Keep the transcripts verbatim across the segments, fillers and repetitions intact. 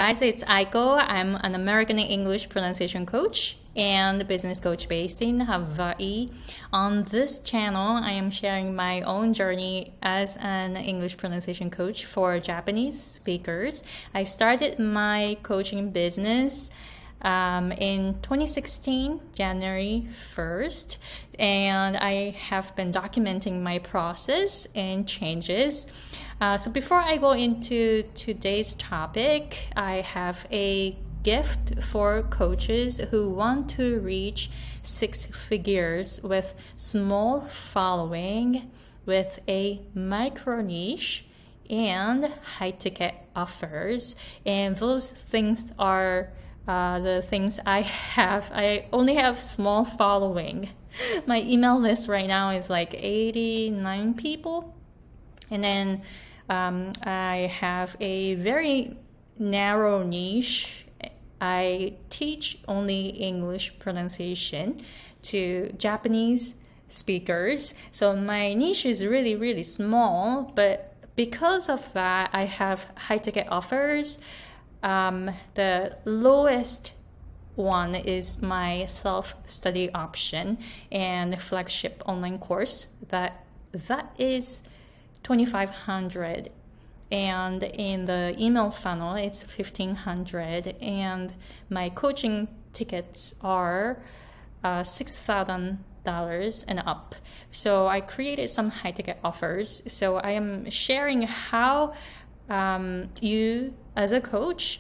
guys, it's Aiko. I'm an American English pronunciation coach and business coach based in Hawaii. On this channel, I am sharing my own journey as an English pronunciation coach for Japanese speakers. I started my coaching business um, in twenty sixteen, January first, and I have been documenting my process and changes. Uh, so before I go into today's topic, I have a gift for coaches who want to reach six figures with small following, with a micro niche and high ticket offers. And those things are uh, the things I have. I only have small following. My email list right now is like eighty-nine people. And then um, I have a very narrow niche. I teach only English pronunciation to Japanese speakers. So my niche is really, really small, but because of that, I have high ticket offers. Um, the lowest one is my self-study option and flagship online course. That that is twenty-five hundred. And in the email funnel, it's fifteen hundred, and my coaching tickets are uh, six thousand dollars and up. So I created some high ticket offers. So I am sharing how um, you, as a coach,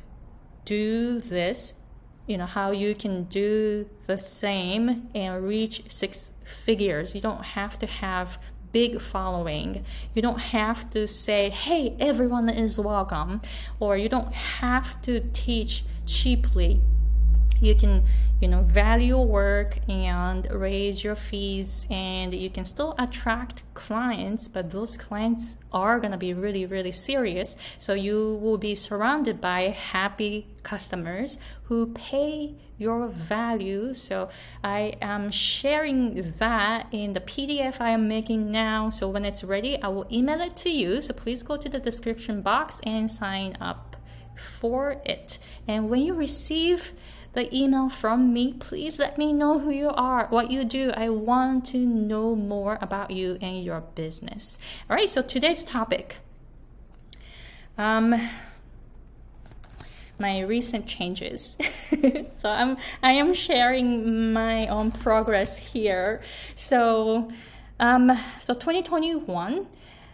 do this, you know, how you can do the same and reach six figures. You don't have to have big following. You don't have to say, hey, everyone is welcome, or you don't have to teach cheaply. You can, you know, value your work and raise your fees, and you can still attract clients, but those clients are going to be really, really serious. So you will be surrounded by happy customers who pay your value. So I am sharing that in the P D F I am making now. So when it's ready, I will email it to you. So please go to the description box and sign up for it. And when you receive the email from me, please let me know who you are, what you do. I want to know more about you and your business. All right, so today's topic. Um, my recent changes. so I'm I am sharing my own progress here. So um so twenty twenty-one,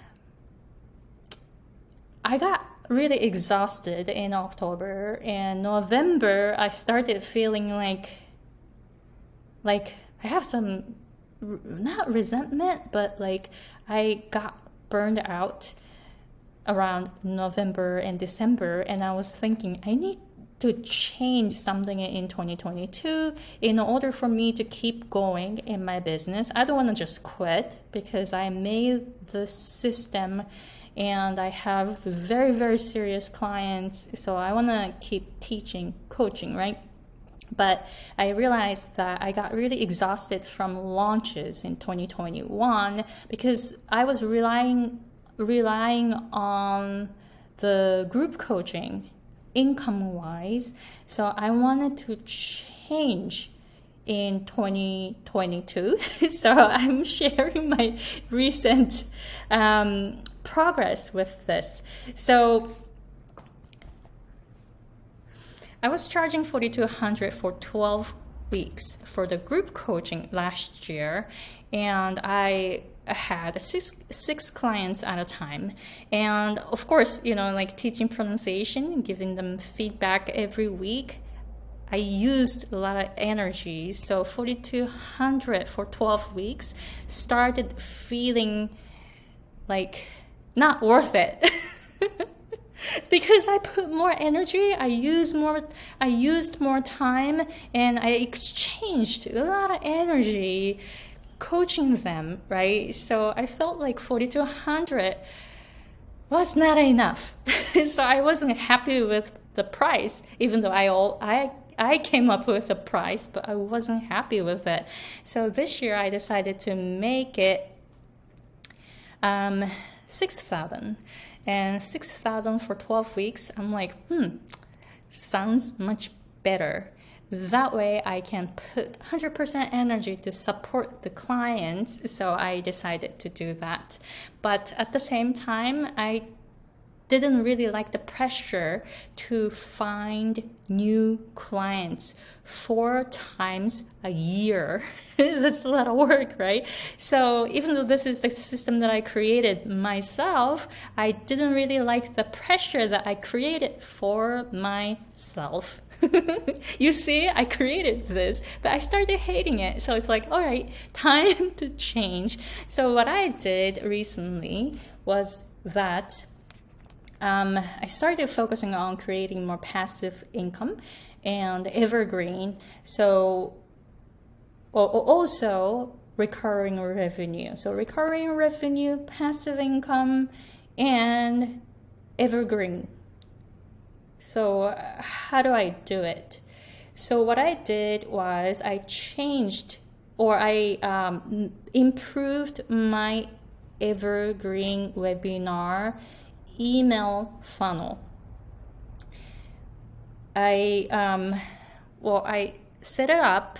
I got really exhausted in October, and November I started feeling like like I have some, not resentment, but like I got burned out around November and December, and I was thinking I need to change something in twenty twenty-two in order for me to keep going in my business. I don't want to just quit because I made the system and I have very, very serious clients. So I want to keep teaching, coaching, right? But I realized that I got really exhausted from launches in twenty twenty-one because I was relying relying on the group coaching income-wise. So I wanted to change in twenty twenty-two. So I'm sharing my recent um, progress with this. So I was charging forty-two hundred for twelve weeks for the group coaching last year, and I had six six clients at a time. And of course, you know, like teaching pronunciation, giving them feedback every week, I used a lot of energy. So forty-two hundred for twelve weeks started feeling like not worth it. Because I put more energy, I used more, I used more time, and I exchanged a lot of energy coaching them, right? So I felt like forty-two hundred was not enough. So I wasn't happy with the price, even though I all I I came up with the price, but I wasn't happy with it. So this year I decided to make it um, six thousand. and six thousand for twelve weeks. I'm like, hmm, sounds much better. That way I can put one hundred percent energy to support the clients. So I decided to do that. But at the same time, I didn't really like the pressure to find new clients four times a year. That's a lot of work, right? So even though this is the system that I created myself, I didn't really like the pressure that I created for myself. You see, I created this, but I started hating it. So it's like, all right, time to change. So what I did recently was that Um, I started focusing on creating more passive income and evergreen. So also recurring revenue. So recurring revenue, passive income, and evergreen. So how do I do it? So what I did was I changed or I um, improved my evergreen webinar email funnel. I um, well, I set it up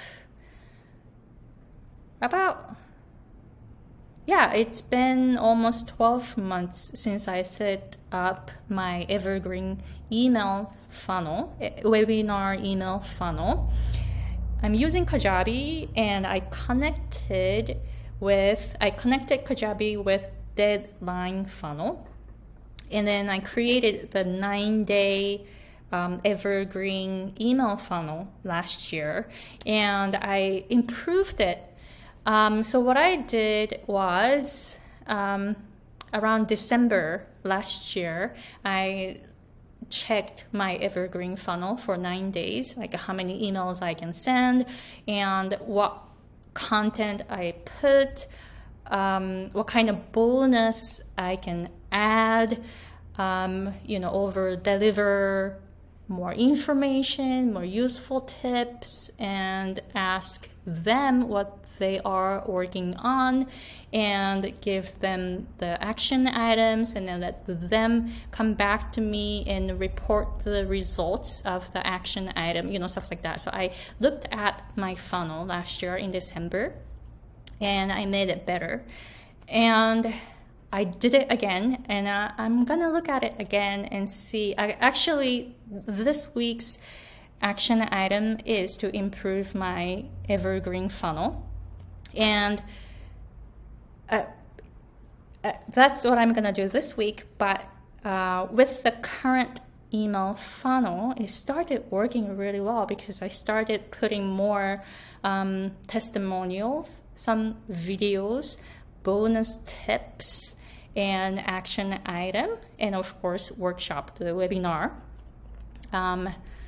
about yeah, it's been almost twelve months since I set up my evergreen email funnel, webinar email funnel. I'm using Kajabi, and I connected with I connected Kajabi with Deadline funnel. And then I created the nine-day um, evergreen email funnel last year, and I improved it. Um, so what I did was um, around December last year, I checked my evergreen funnel for nine days, like how many emails I can send and what content I put, um, what kind of bonus I can add, um, you know, over deliver more information, more useful tips, and ask them what they are working on and give them the action items, and then let them come back to me and report the results of the action item, you know, stuff like that. So I looked at my funnel last year in December and I made it better. And I did it again, and uh, I'm gonna look at it again and see. I, actually, this week's action item is to improve my evergreen funnel. And uh, uh, that's what I'm gonna do this week. But uh, with the current email funnel, it started working really well because I started putting more um, testimonials, some videos, bonus tips, and action item, and of course workshop, the webinar. Um,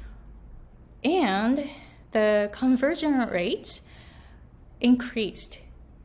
and the conversion rate increased.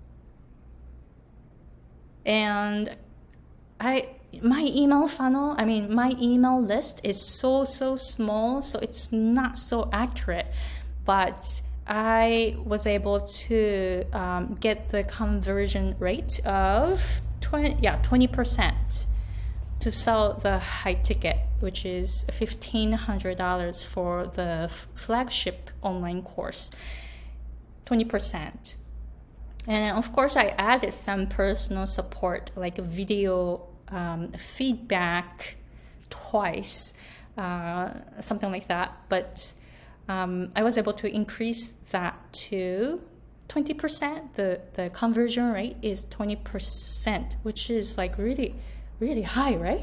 And I my email funnel, I mean my email list is so so small, so it's not so accurate, but I was able to um, get the conversion rate of twenty, yeah, twenty percent to sell the high ticket, which is fifteen hundred dollars for the f- flagship online course, twenty percent. And of course, I added some personal support, like video um, feedback twice, uh, something like that. But um, I was able to increase that to twenty percent. The, the conversion rate is twenty percent, which is like really, really high, right?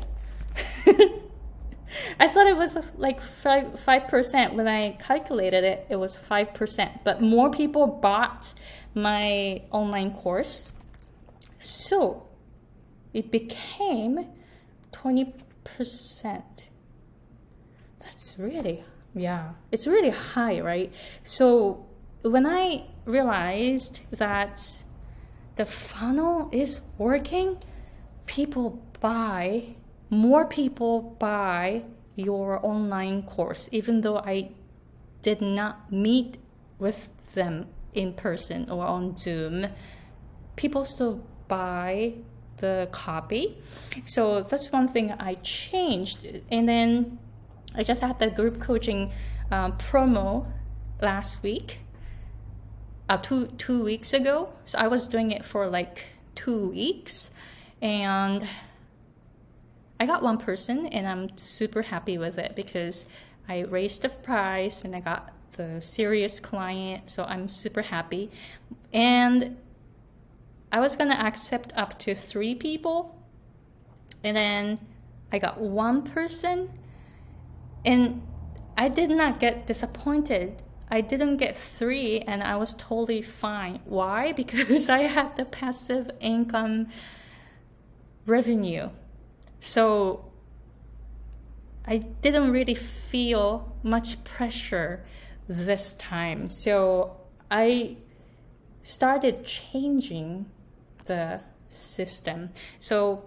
I thought it was like five, five percent. When I calculated it, it was five percent. But more people bought my online course, so it became twenty percent. That's really, yeah, it's really high, right? So when I realized that the funnel is working, people buy, more people buy your online course, even though I did not meet with them in person or on Zoom. People still buy the copy. So that's one thing I changed. And then I just had the group coaching uh, promo last week, uh, two two weeks ago. So I was doing it for like two weeks, and I got one person, and I'm super happy with it because I raised the price and I got the serious client. So I'm super happy. And I was gonna accept up to three people, and then I got one person, and I did not get disappointed. I didn't get three, and I was totally fine. Why? Because I had the passive income revenue. So I didn't really feel much pressure this time. So I started changing the system. So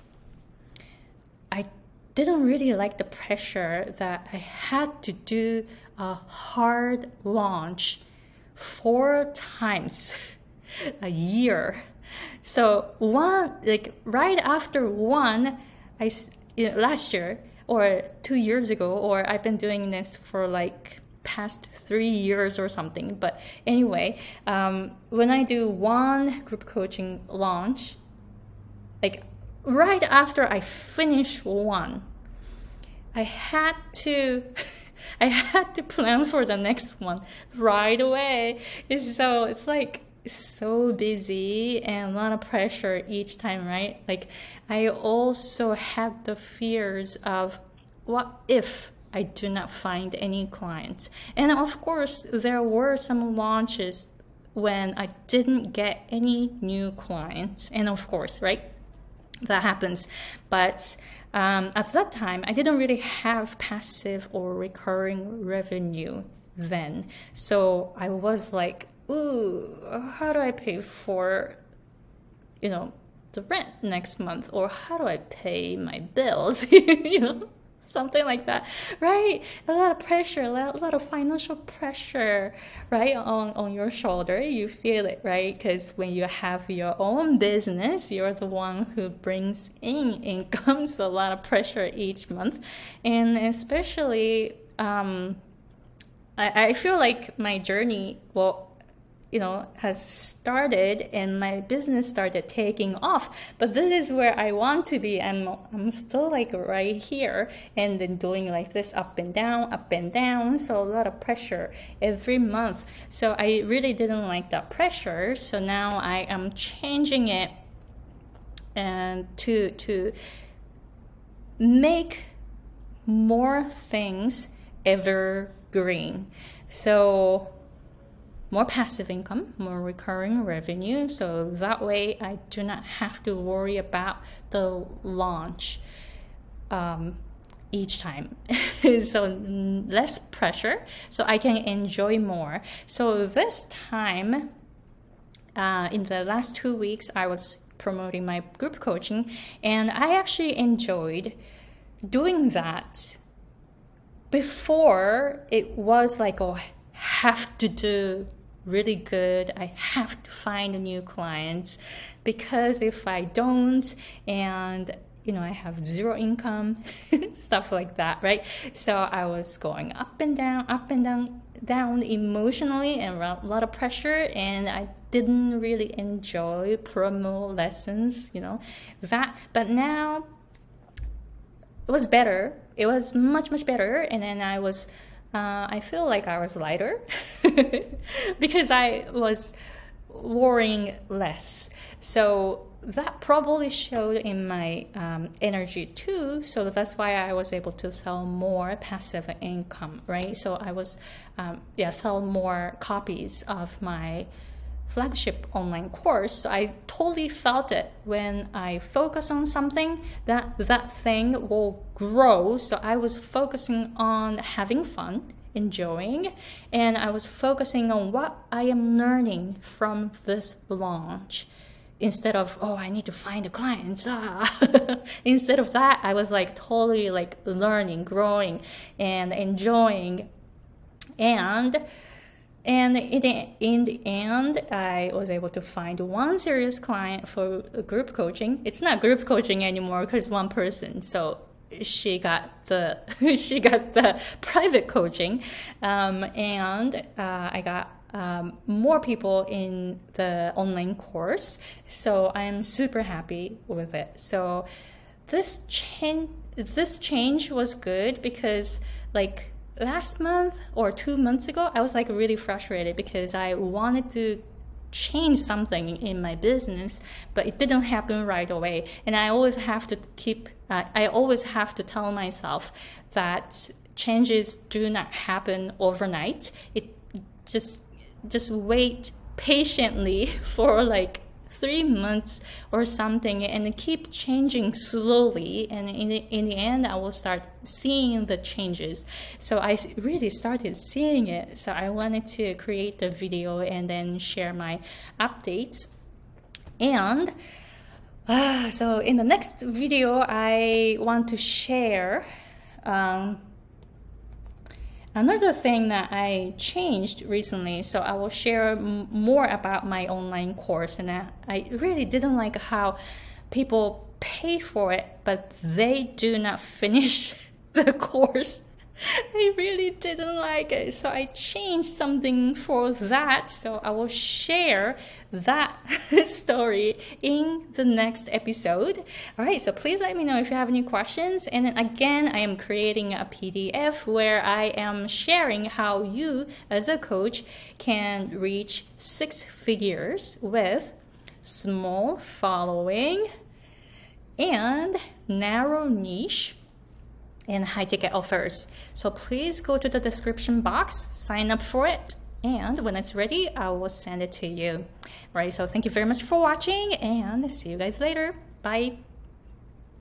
I didn't really like the pressure that I had to do a hard launch four times a year. So one, like right after one, I you know, last year or two years ago, or I've been doing this for like past three years or something. But anyway, um, when I do one group coaching launch, like right after I finish one, I had to I had to plan for the next one right away. So it's like so busy and a lot of pressure each time, right? Like I also had the fears of what if I do not find any clients. And of course, there were some launches when I didn't get any new clients. And of course, right, that happens. But um, at that time, I didn't really have passive or recurring revenue then. So I was like, ooh, how do I pay for, you know, the rent next month? Or how do I pay my bills? you know? Something like that, right? A lot of pressure, a lot, a lot of financial pressure, right, on, on your shoulder. You feel it, right? Because when you have your own business, you're the one who brings in income, so a lot of pressure each month. And especially, um, I, I feel like my journey, well, you know, has started and my business started taking off. But this is where I want to be. I'm, I'm still like right here and then doing like this up and down, up and down. So a lot of pressure every month. So I really didn't like that pressure. So now I am changing it and to, to make more things evergreen. So more passive income, more recurring revenue. So that way I do not have to worry about the launch um, each time. So less pressure, so I can enjoy more. So this time, uh, in the last two weeks, I was promoting my group coaching, and I actually enjoyed doing that. Before, it was like, oh, I have to do really good. I have to find new clients, because if I don't, and you know, I have zero income, stuff like that, right? So I was going up and down, up and down, down emotionally, and a lot of pressure, and I didn't really enjoy promo lessons, you know, that. But now it was better. It was much, much better. And then I was Uh, I feel like I was lighter because I was worrying less. So that probably showed in my um, energy too. So that's why I was able to sell more passive income, right? So I was, um, yeah, sell more copies of my flagship online course. So I totally felt it. When I focus on something, that that thing will grow. So I was focusing on having fun, enjoying, and I was focusing on what I am learning from this launch, instead of, oh, I need to find the clients. Ah. Instead of that, I was like totally like learning, growing, and enjoying. And And in the, in the end, I was able to find one serious client for group coaching. It's not group coaching anymore because one person. So she got the she got the private coaching, um, and uh, I got um, more people in the online course. So I'm super happy with it. So this change this change was good because like last month or two months ago, I was like really frustrated because I wanted to change something in my business, but it didn't happen right away. And I always have to keep, uh, I always have to tell myself that changes do not happen overnight. It just, just wait patiently for like three months or something and keep changing slowly, and in the, in the end I will start seeing the changes. So I really started seeing it, so I wanted to create the video and then share my updates. And uh, so in the next video I want to share um, another thing that I changed recently. So I will share m- more about my online course. And I, I really didn't like how people pay for it, but they do not finish the course. I really didn't like it. So I changed something for that. So I will share that story in the next episode. All right, so please let me know if you have any questions. And then again, I am creating a P D F where I am sharing how you as a coach can reach six figures with small following and narrow niche and high ticket offers. So please go to the description box, sign up for it, and when it's ready, I will send it to you. All right, so thank you very much for watching and see you guys later. Bye.